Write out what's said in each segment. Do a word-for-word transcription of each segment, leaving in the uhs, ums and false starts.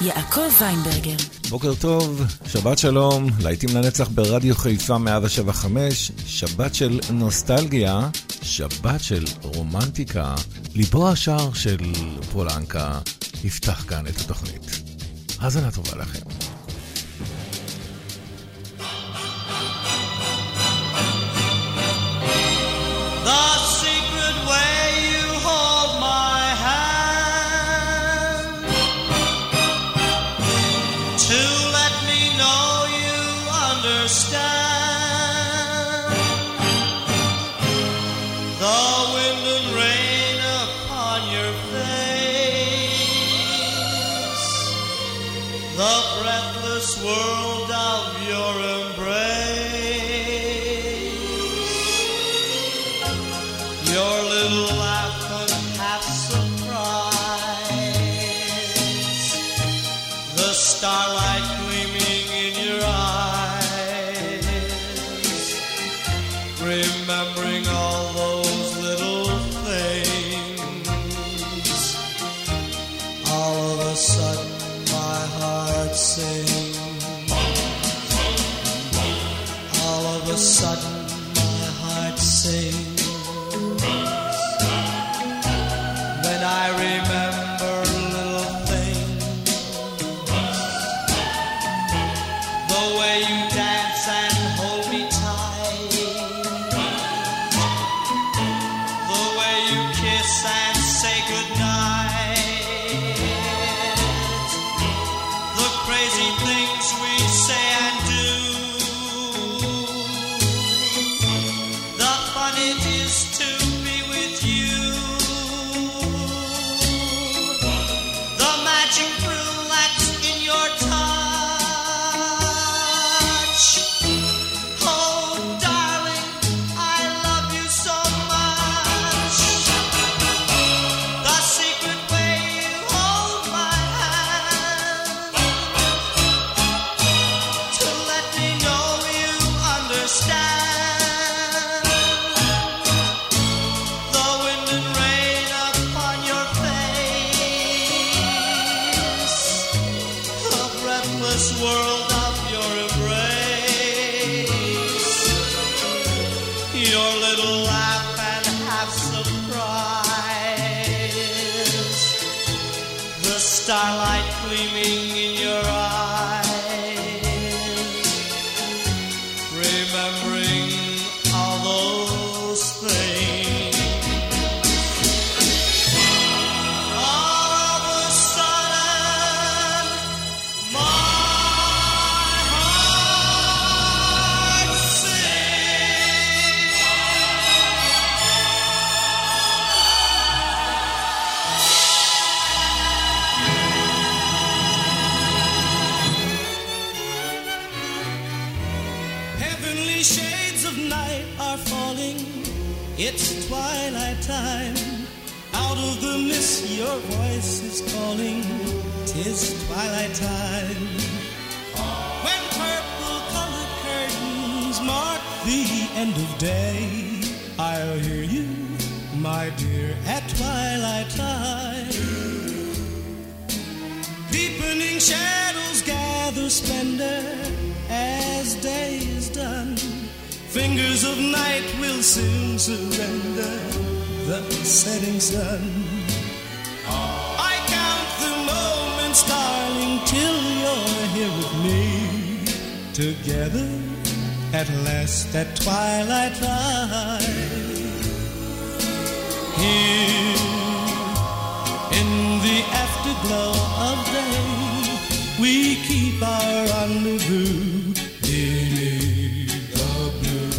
יעקב ויינברגר. בוקר טוב, שבת שלום, להיטים לנצח ברדיו חיפה מאה שבע חמש, שבת של נוסטלגיה, שבת של רומנטיקה, ליבו השער של פולנקה, יפתח כאן את התוכנית. האזנה טובה לכם. World of your embrace, your little laugh and half surprise, the starlight gleaming in your eyes, remembering all those little things, all of a sudden my heart sings. All of a sudden my heart sings when I remember little things, the way you dance and hold me tight, the way you kiss and say goodnight, the crazy things we say and do, it is to be with you, the magic relax in your touch. Oh darling, I love you so much, the secret way you hold my hand, to let me know you understand. World of your embrace, your little laugh and half surprise, the starlight gleaming in your eyes, remembering all those things. All of a sudden, my shades of night are falling, it's twilight time, out of the mist your voice is calling, 'tis twilight time. When purple colored curtains mark the end of day, I'll hear you, my dear, at twilight time. Deepening shadows gather splendor as day is done, fingers of night will soon surrender the setting sun. I count the moments, darling, till you're here with me, together at last at twilight time. Here in the afterglow of day, we keep our rendezvous beneath the blue.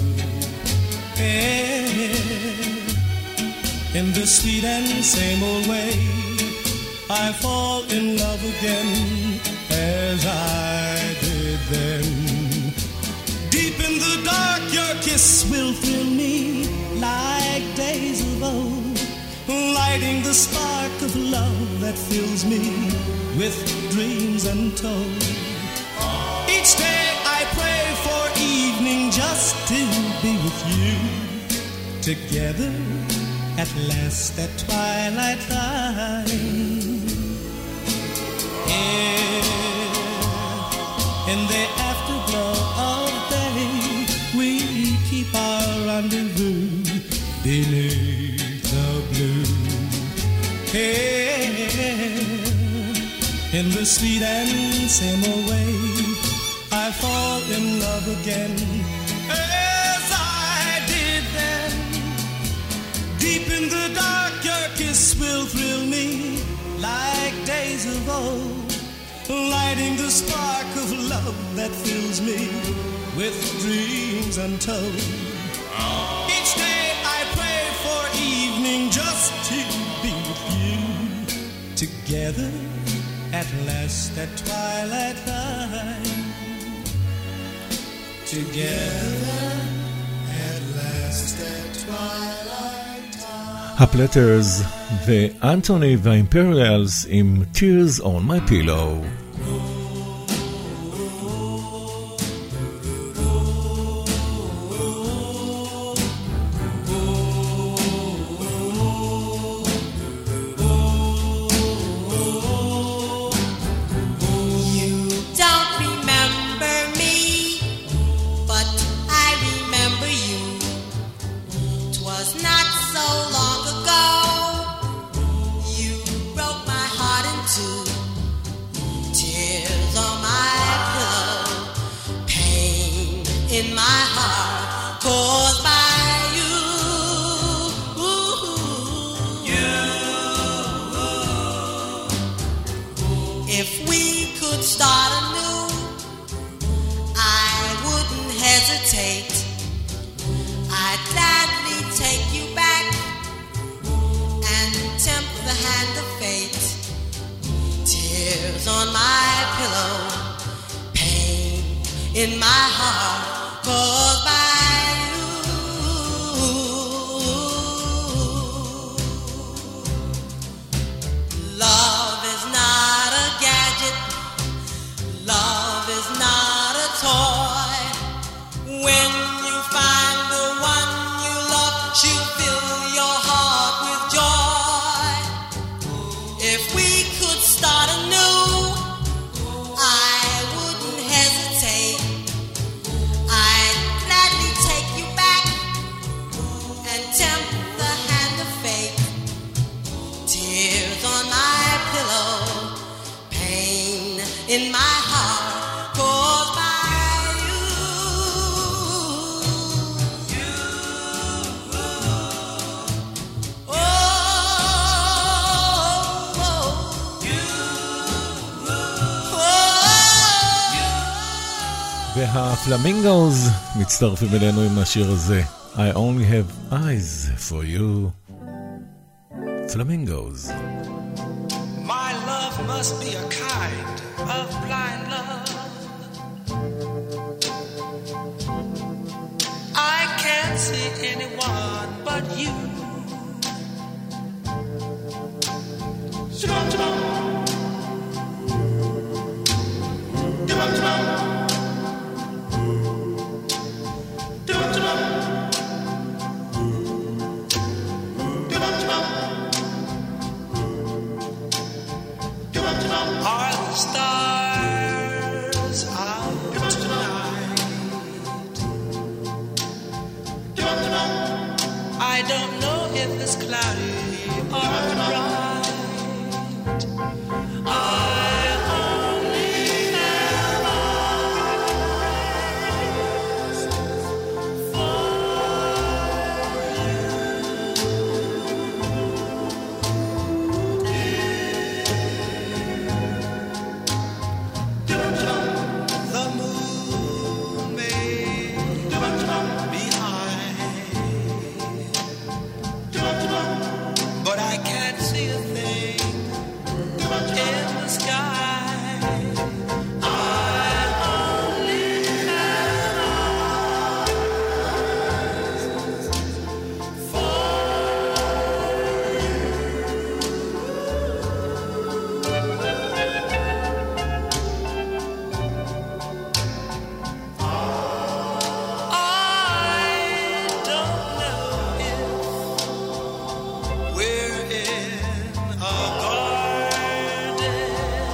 Yeah. In the sweet and same old way, I fall in love again as I did then. Deep in the dark, your kiss will thrill me like days of old, lighting the spark of love that fills me with dreams untold. Each day I pray for evening just to be with you, together at last at twilight time. Yeah. In the afterglow of day, we keep our rendezvous beneath the blue. Hey, in the sweet and same old way, I fall in love again, as I did then. Deep in the dark, your kiss will thrill me like days of old, lighting the spark of love that fills me with dreams untold. Each day I pray for evening just to be with you, together at last at twilight time. Together at last at twilight time. הפלטרס ואנטוני והאימפריאלס עם Tears on My Pillow. והפלמינגוז מצטרפים אלינו עם השיר הזה, I only have eyes for you. Flamingos. My love must be a kind of blind love. I can't see anyone but you. Shabam, shabam. Shabam, shabam. Are the stars out tonight? I don't know if it's cloudy or bright. I only have eyes for the moon may be high, but I can't see a thing in the sky. I only have eyes for I don't know if we're in a garden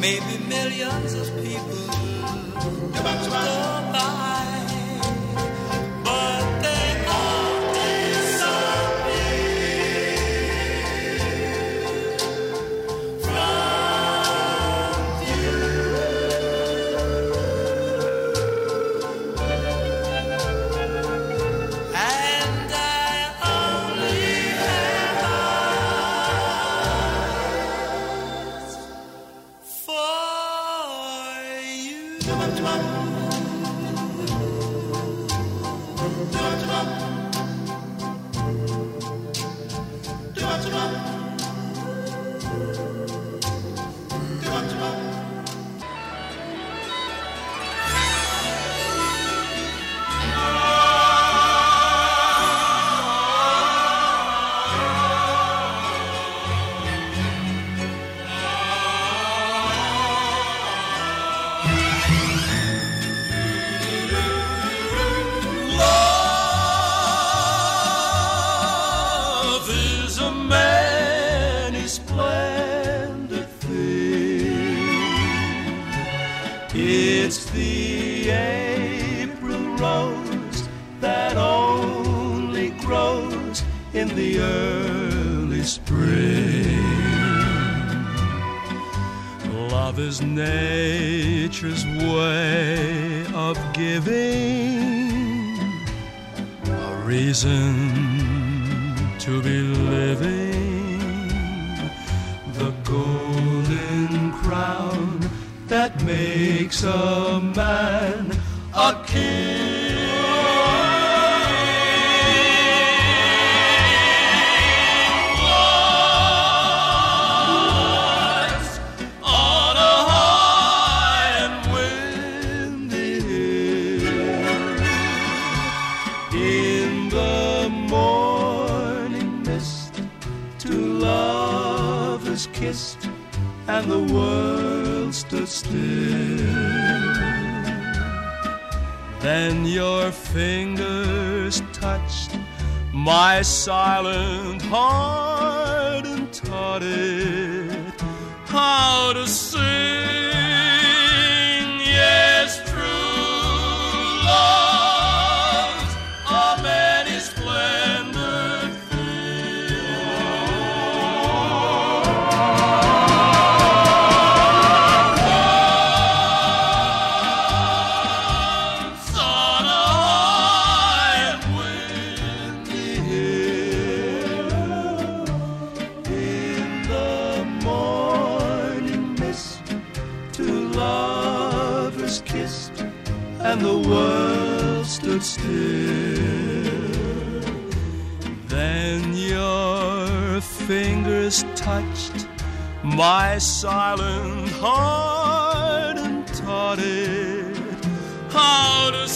maybe millions of people go by, but they all disappear from view. And I only have eyes for you. Love is a many splendid thing. It's the April rose that only grows in the early spring. Love is nature's way of giving a reason to be living, the golden crown that makes a man a king. Lies on a high and windy hill. In the morning mist, two lovers kissed, and the world stood still. Then your fingers touched my silent heart and taught it how to sing. Yes, true love's a many splendid Once on a high and windy hill, in the morning mist, two lovers kissed, and the world stood still. Then your fingers touched my silent heart and taught it how to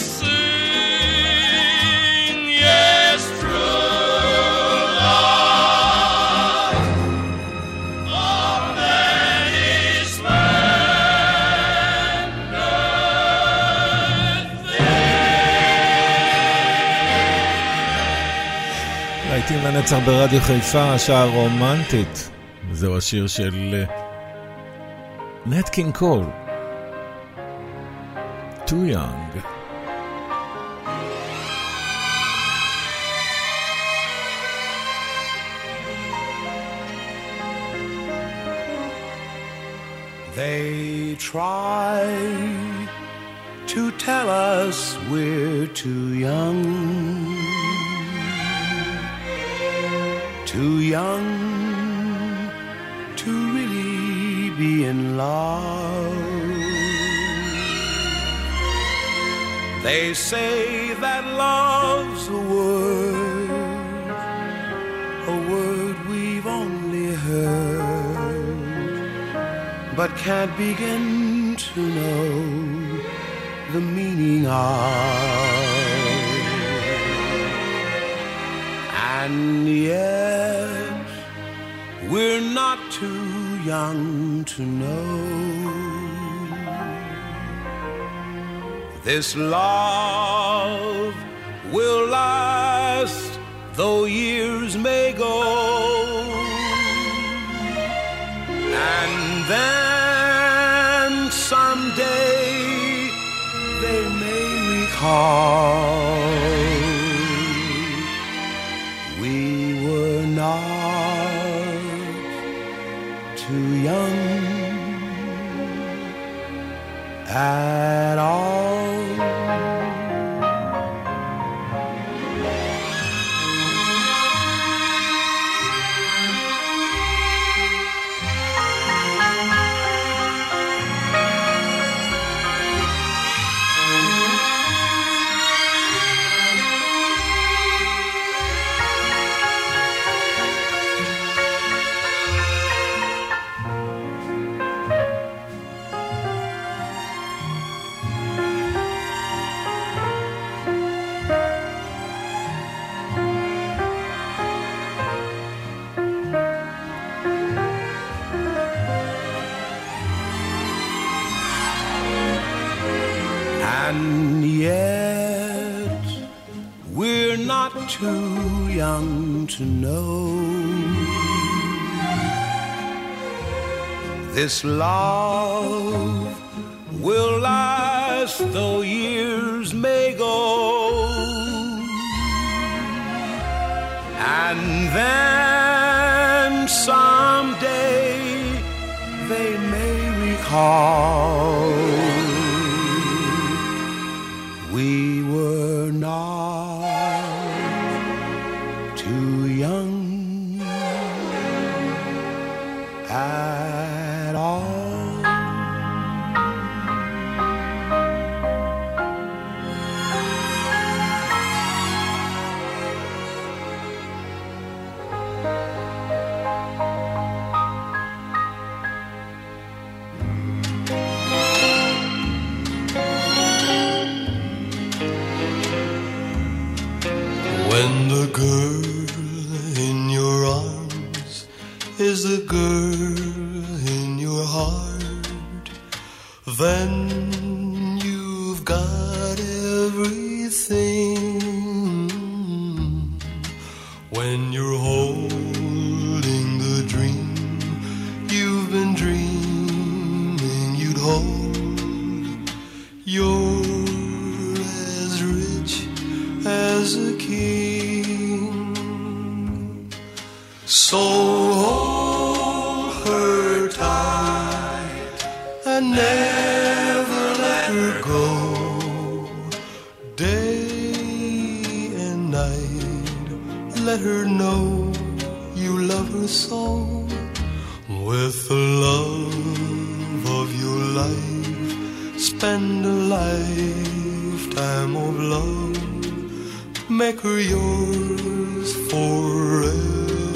sing. Yes, true love of many splendid things. להיטים לנצח ברדיו חיפה, השעה רומנטית. זהו השיר של נט קינג קול, Too Young. They try to tell us we're too young, too young to really be in love. They say that love's a word, a word we've only heard, but can't begin to know the meaning of. And yet we're not too young to know this love will last though years may go. And then someday they may recall we were not too young at all. And yet we're not too young to know this love will last though years may go. And then someday they may recall we were not too young at all. When the girl in your arms is the girl in your heart, then you've got everything. When you're holding the dream you've been dreaming you'd hold, you're as rich as a king. So hold her tight and never let her go. Day and night, let her know you love her so. With the love of your life, spend a lifetime of love. Make her yours forevermore.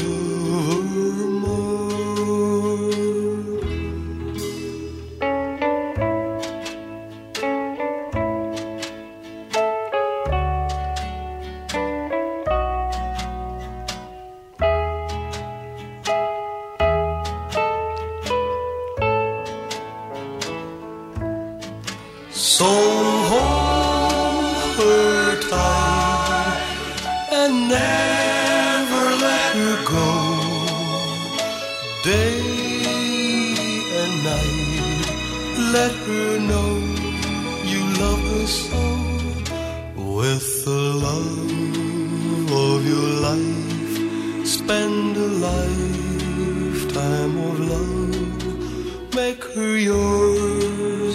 So hold her tight and never let her go. Day and night, let her know you love her so. With the love of your life, spend a lifetime of love. Make her yours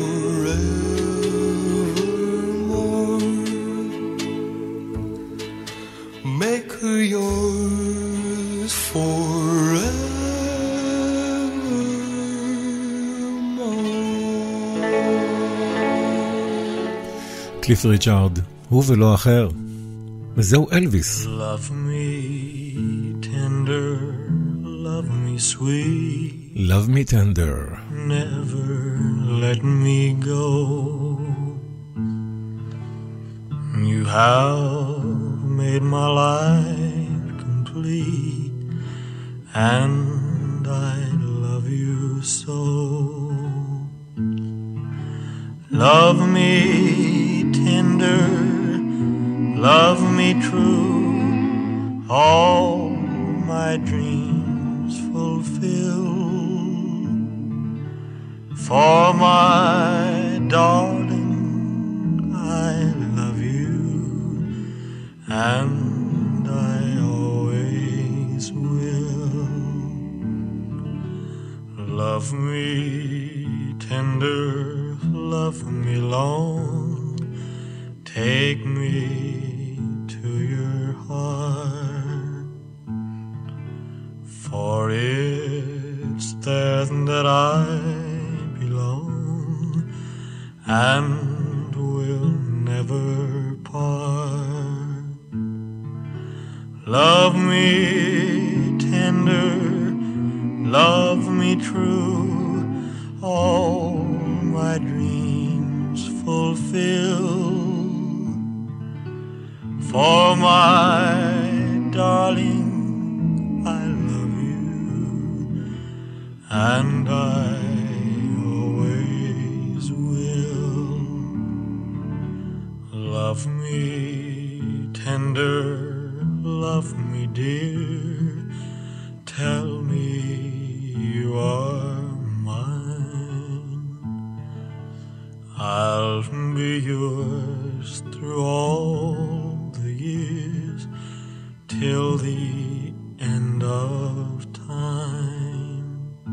forevermore. Make her yours forevermore. קליף ריצ'ארד, הוא ולא אחר. וזהו אלוויס. Love me tender, love me sweet. Love me tender. Never let me go. You have made my life complete, and I love you so. Love me tender, love me true, all my dreams fulfill. For my darling, I love you, and I always will. Love me tender, love me long, take me to your heart, for it's there that I belong and will never part. Love me tender, love me true, all my dreams fulfill. For my darling, I love you, and I always will. Love me tender, love me dear, tell me you are mine. I'll be yours through all the years, till the end of time.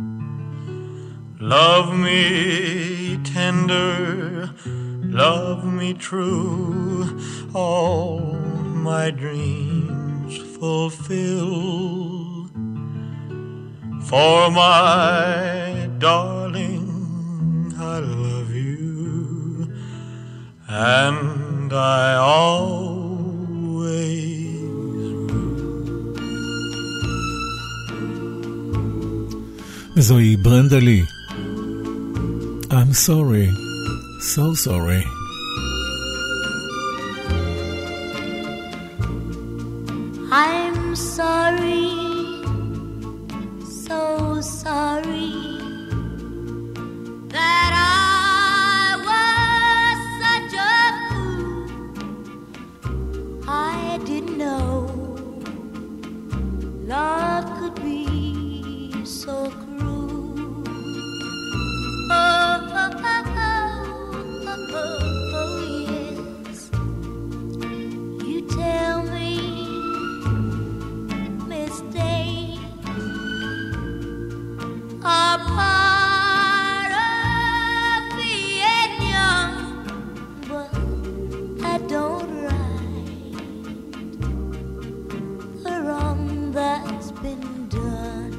Love me tender, love me true, all my dreams fulfill. For my darling, I love you, and I always will. זוהי ברנדה לי. I'm sorry, so sorry. I'm sorry, so sorry that I was such a fool. I didn't know love could be so cruel. Oh, oh, oh, oh, oh, oh, yes. You tell me mistakes are part of being young, but I don't right the wrong that's been done.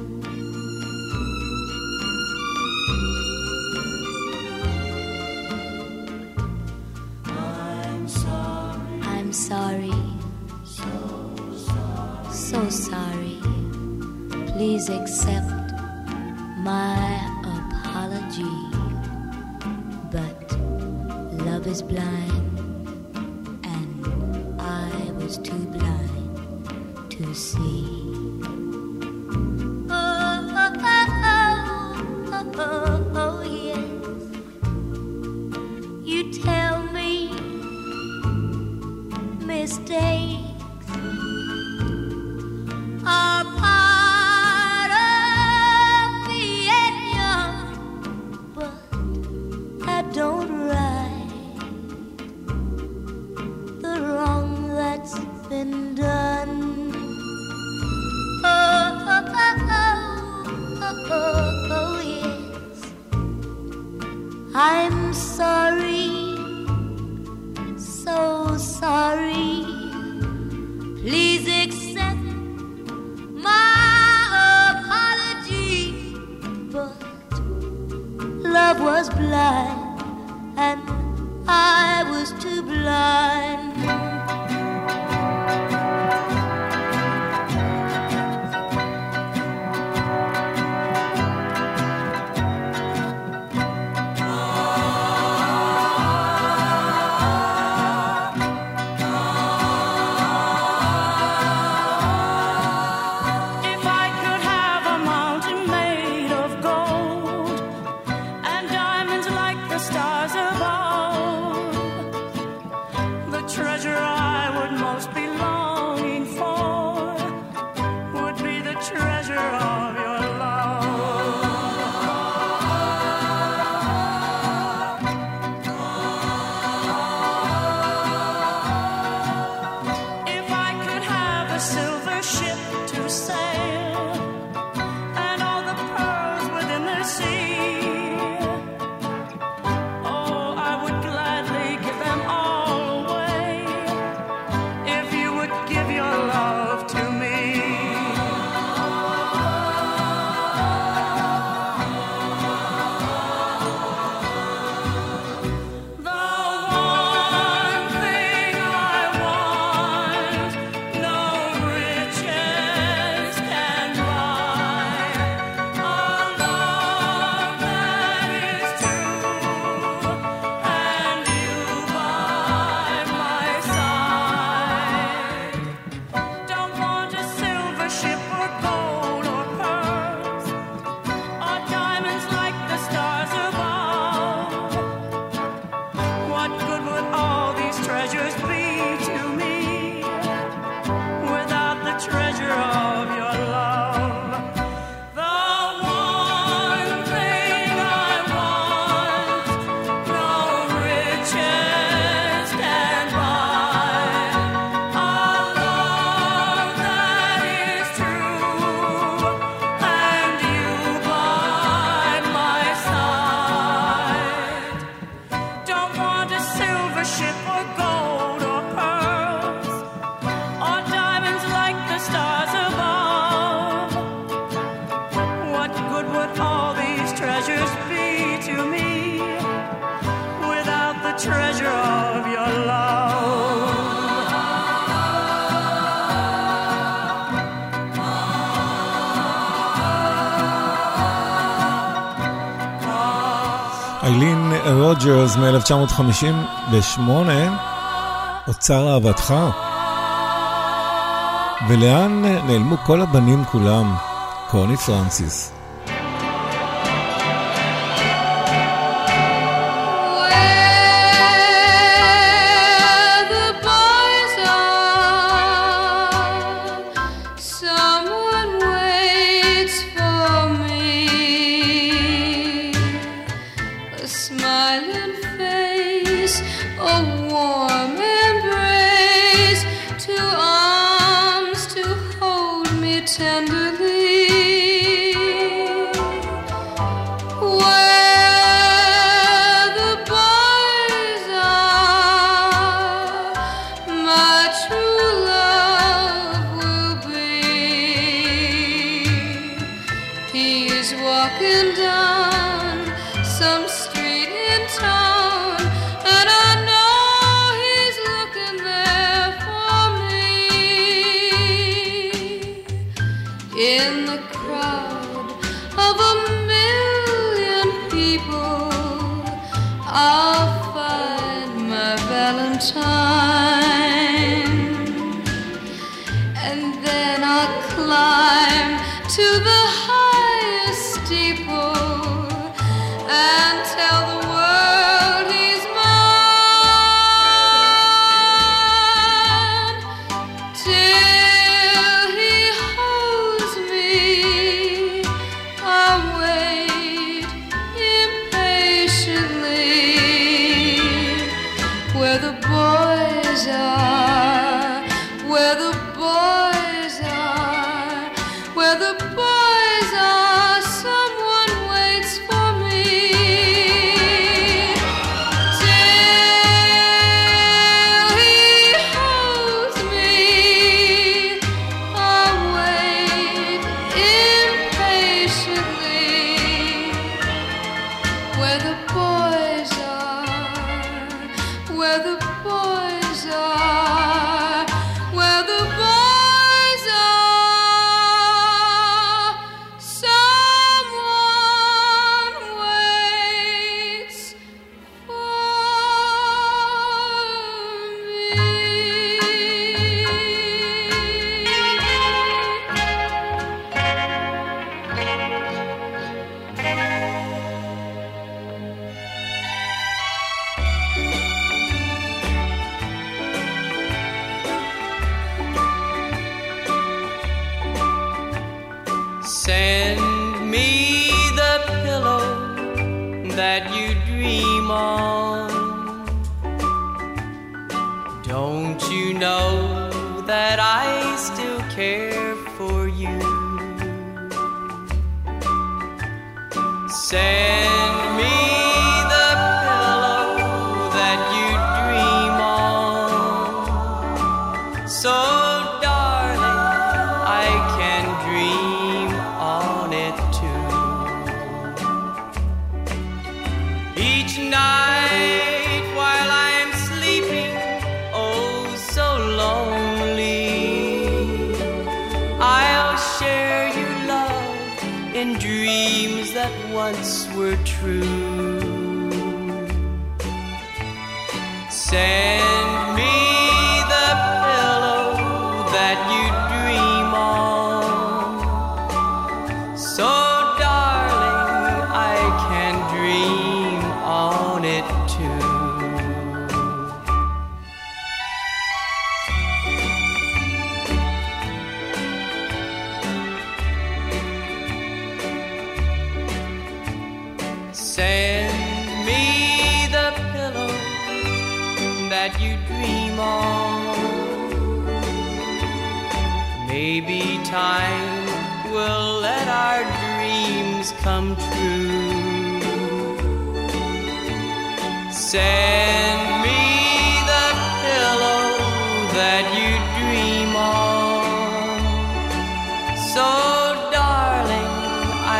I'm sorry, I'm sorry, so sorry, so sorry. Please accept my apology, but love is blind, and I was too blind to see. Oh, oh, oh, oh, oh, oh, yes. You tell me mistakes are part of being young, but I don't right the wrong that's been done. Oh, oh, oh, oh, oh, oh, yes. I'm sorry, so sorry. Please accept my apology, but love was blind, and I was too blind. Treasure treasure of your love. איילין רוג'רס מ-אלף תשע מאות חמישים ושמונה, אוצר אהבתך. ולאן נעלמו כל הבנים כולם? קוני פרנסיס.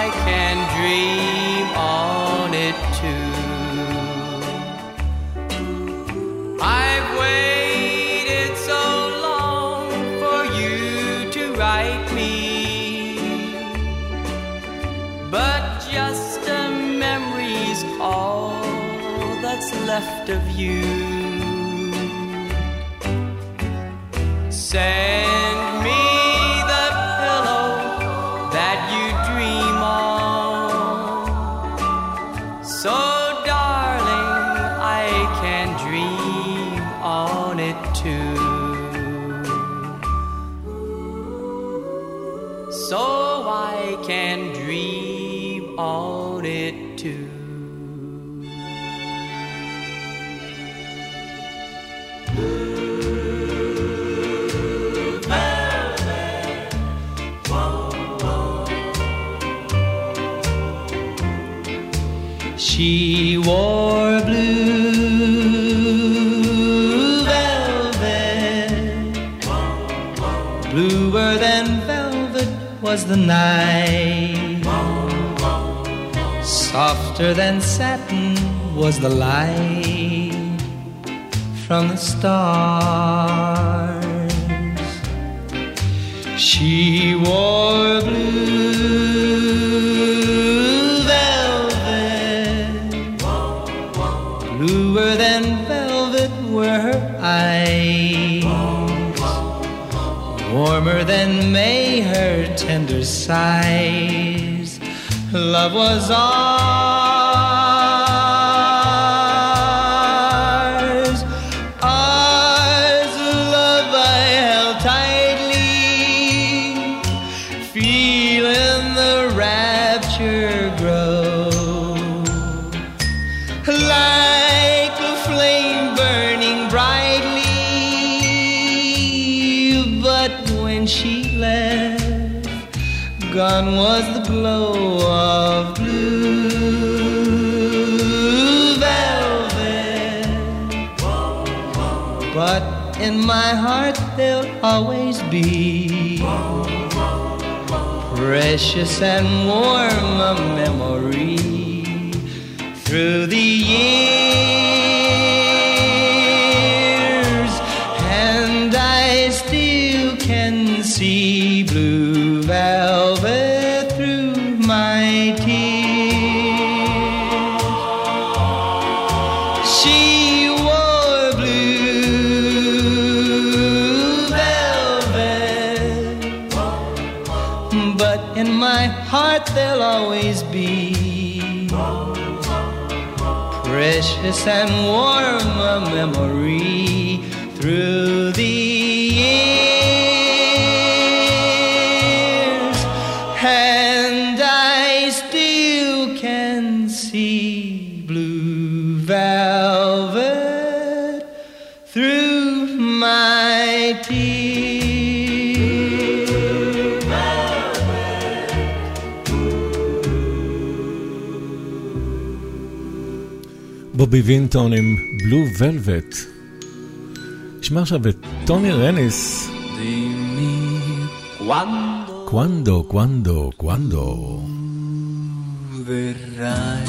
Dream on it too. left of you. Send me the pillow that you dream on, so darling I can dream on it too. So I can dream on it too. She wore blue velvet, bluer than velvet was the night, softer than satin was the light from the stars. She wore blue velvet, bluer than velvet were her eyes, warmer than May her tender sighs. Love was ours, ours, love I held tightly, feeling the rapture grow, like a flame burning brightly. But when she left, gone was the glow of blue velvet. But in my heart there'll always be precious and warm a memory through the years, and I still can see blue velvet through my tears. She wore blue velvet, but in my heart there'll always be precious and warm a memory through the years, and I still can see blue velvet through my tears. בובי וינטון עם בלו ולווט. נשמע עכשיו את טוני רניס. Quando, quando, quando verrai.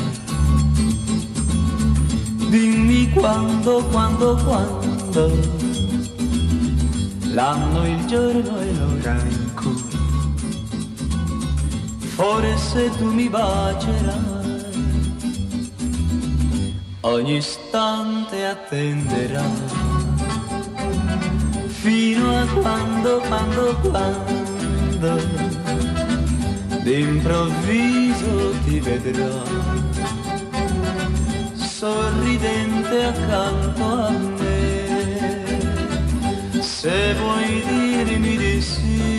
Dimmi quando, quando, quando, l'anno, il giorno e l'ora in cui forse tu mi bacerai, ogni istante attenderai, fino a quando, quando, quando d'improvviso ti vedrò sorridente accanto a me. Se vuoi dirmi di sì,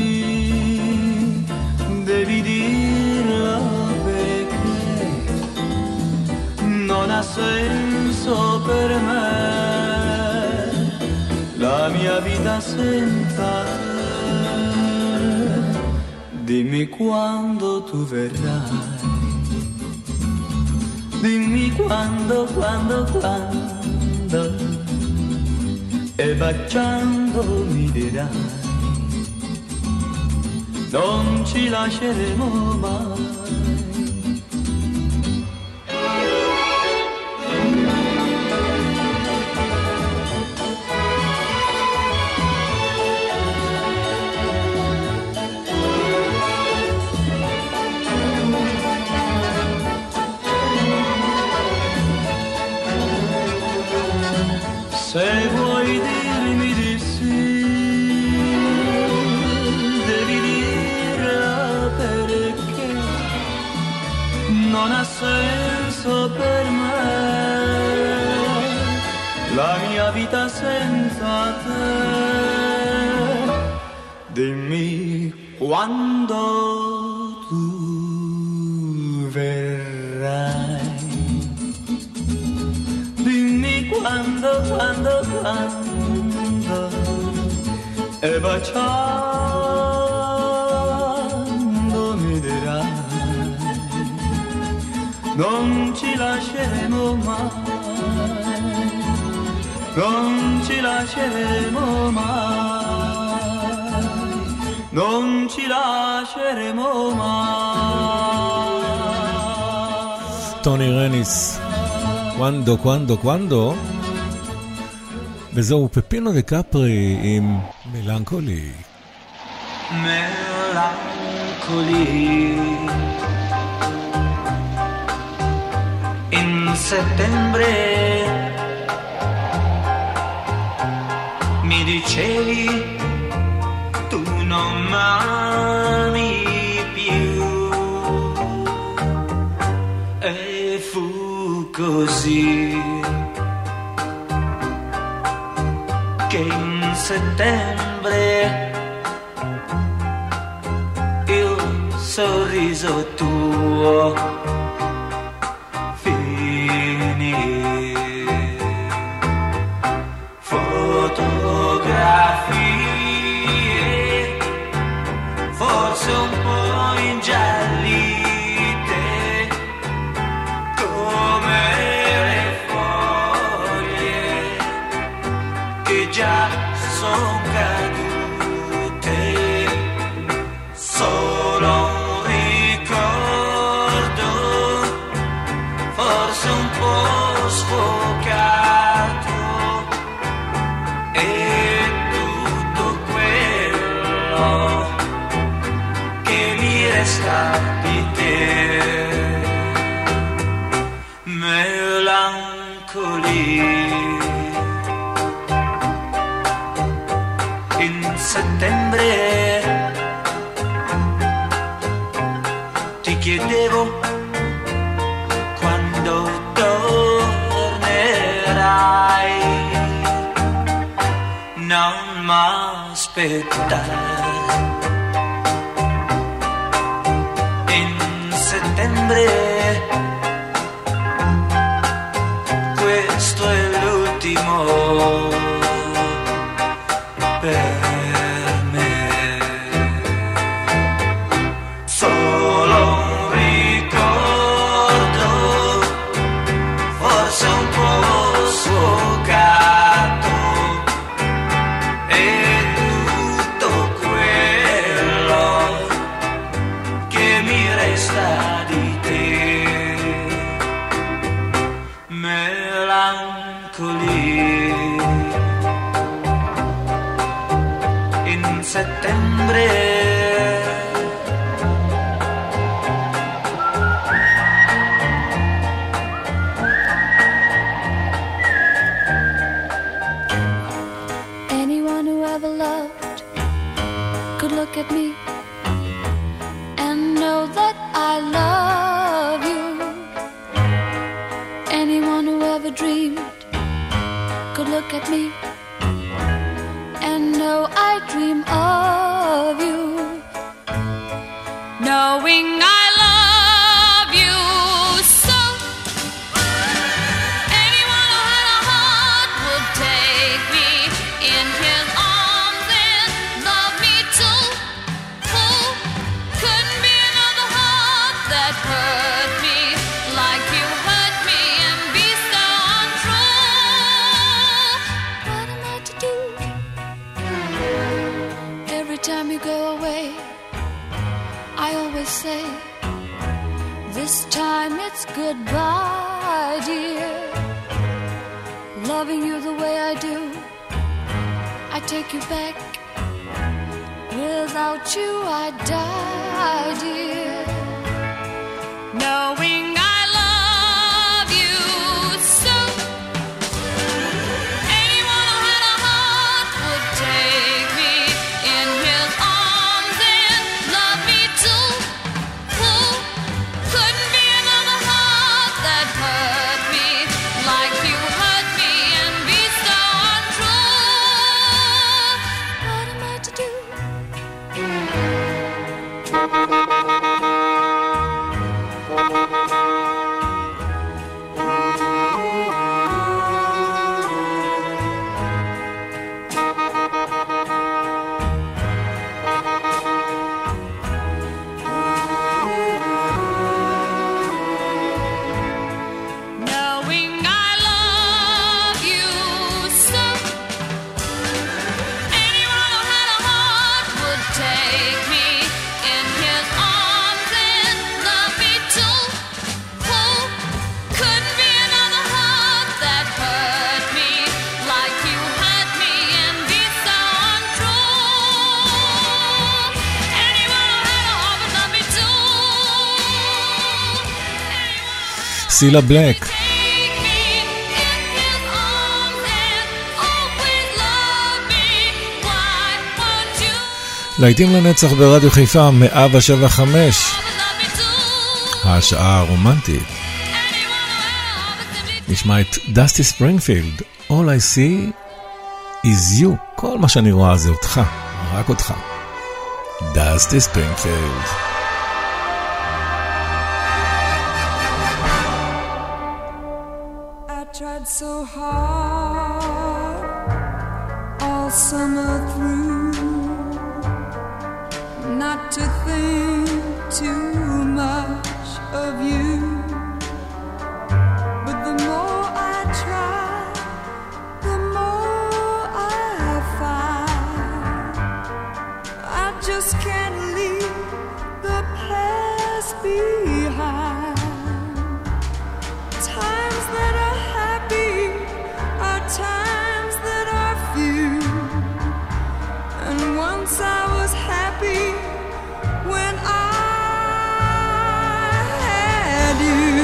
devi dirlo, perché non ha senso per me la mia vita senza te. Dimmi quando tu verrai, dimmi quando, quando, quando, e baciando mi dirai, non ci lasceremo mai. non ha senso per me la mia vita senza te. Dimmi quando tu verrai, dimmi quando, quando, quando, e baciando mi dirai non ci lasceremo mai, non ci lasceremo mai, non ci lasceremo mai. טוני רניס, קוונדו, קוונדו, קוונדו, וזהו פפינו דקפרי עם מלנכולי. Melancoli. In settembre mi dicevi tu non m'ami più, e fu così che in settembre il sorriso tuo finì. Fotografie forse un po' ingiallite come le foglie che già son cadute, solo un ricordo forse un po' sfocato, e tutto quello che mi resta di te. Melancoli. In settembre ti chiedevo quando tornerai, non m'aspettare. In settembre questo è l'ultimo per me, solo un ricordo forse un po' sfocato, e tutto quello che mi resta di te. Melancoli. In settembre Anyone who ever loved could look at me and know that I love you. Anyone who ever dreamed could look at me and know I dream of you. Knowing I love you so, anyone who had a heart would take me in his arms and love me too. Who couldn't be another heart that hurt me like you hurt me and be so untrue? What am I to do? Every time you go away, I always say, this time it's goodbye, dear. Loving you the way I do, I take you back. Without you I'd die, dear. Knowing I love you so, anyone who had a heart would take me in his arms and love me too. Who couldn't be another סילה בלק. להיטים לנצח ברדיו חיפה מאה ושבע חמש, השעה הרומנטית. נשמע את דסטי ספרינגפילד, All I see is you. כל מה שאני רואה זה אותך, רק אותך. דסטי ספרינגפילד. I tried so hard all summer through not to think too much of you, but the more I try, the more I find I just can't leave the past behind. Times that are happy are times that are few, and once I was happy when I had you.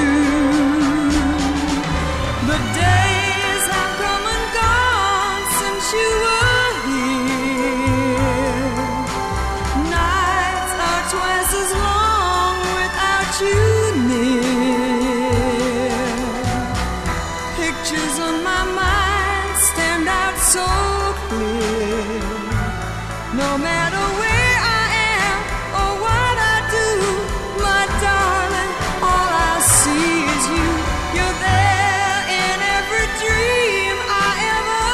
The days have come and gone since you were here. Nights are twice as long without you near. Pictures on my mind stand out so clear. No matter where I am or what I do, my darling, all I see is you. You're there in every dream I ever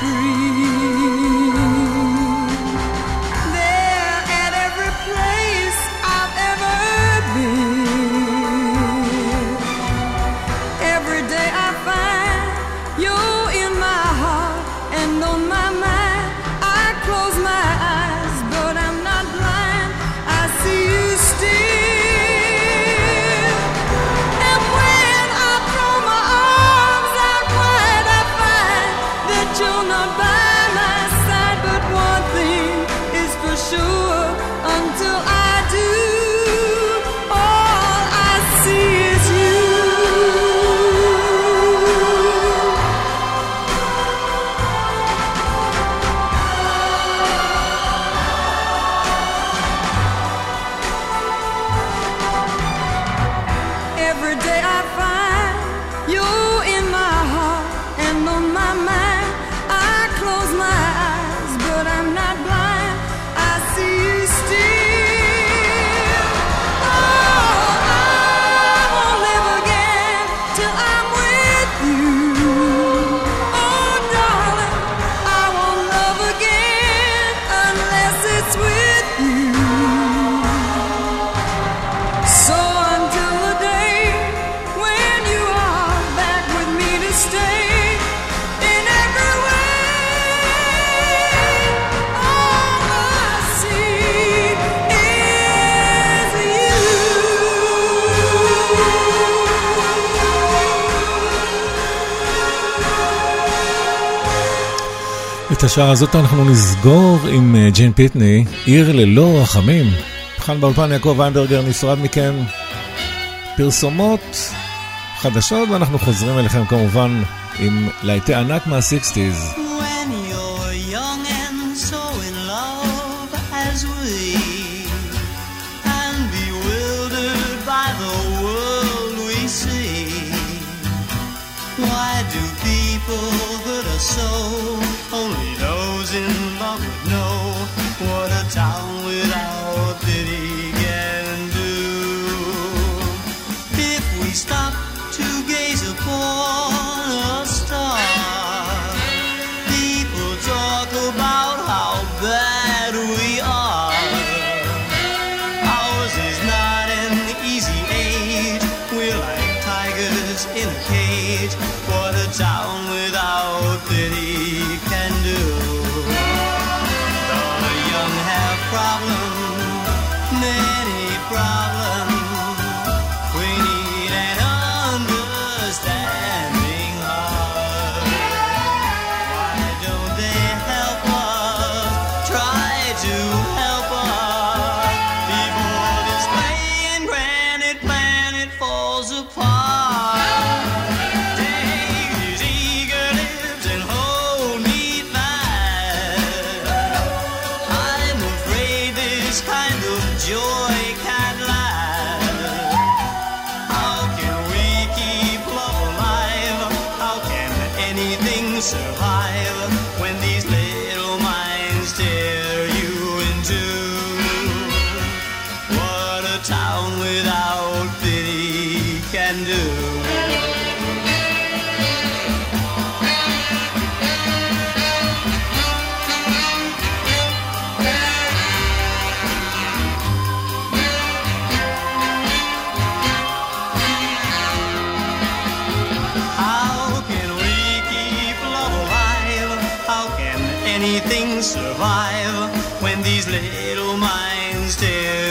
dreamed. There at every place I've ever been. Every day I find you're in my heart and on my mind. I close my eyes, but I'm not blind. I see you still. And when I throw my arms out wide, I find that you're not by my side. But one thing is for sure, until I do, all I see is you. Every day I find you're in my heart and on my mind. I close my eyes, but I'm not blind. I see you still. Oh, I won't live again till I'm with you. Oh, darling, I won't love again unless it's with you. So until the day when you are back with me to stay, in every way, all I see is you. את השעה הזאת אנחנו נסגור עם אה, ג'ין פיטני, עיר ללא רחמים. כאן באולפן יעקב ויינברגר, נפרד מכם. פרסומות חדשות, ואנחנו חוזרים אליכם כמובן עם להיטי ענק מה-שייקסטיז. When you're young and so in love as we, and bewildered by the world we see, why do people hurt us so? Only those in love would know what a town without pity can do. If we stop to gaze upon a star, people talk about how bad we are. Ours is not an easy age. We're like tigers in a cage. What a town without pity can do. The young have problems, many problems. We need an understanding heart. Why don't they help us? Try to help us before this playing granite planet falls apart. survive when these little minds tear you in two? What a town without pity can do. Anything survive when these little minds tear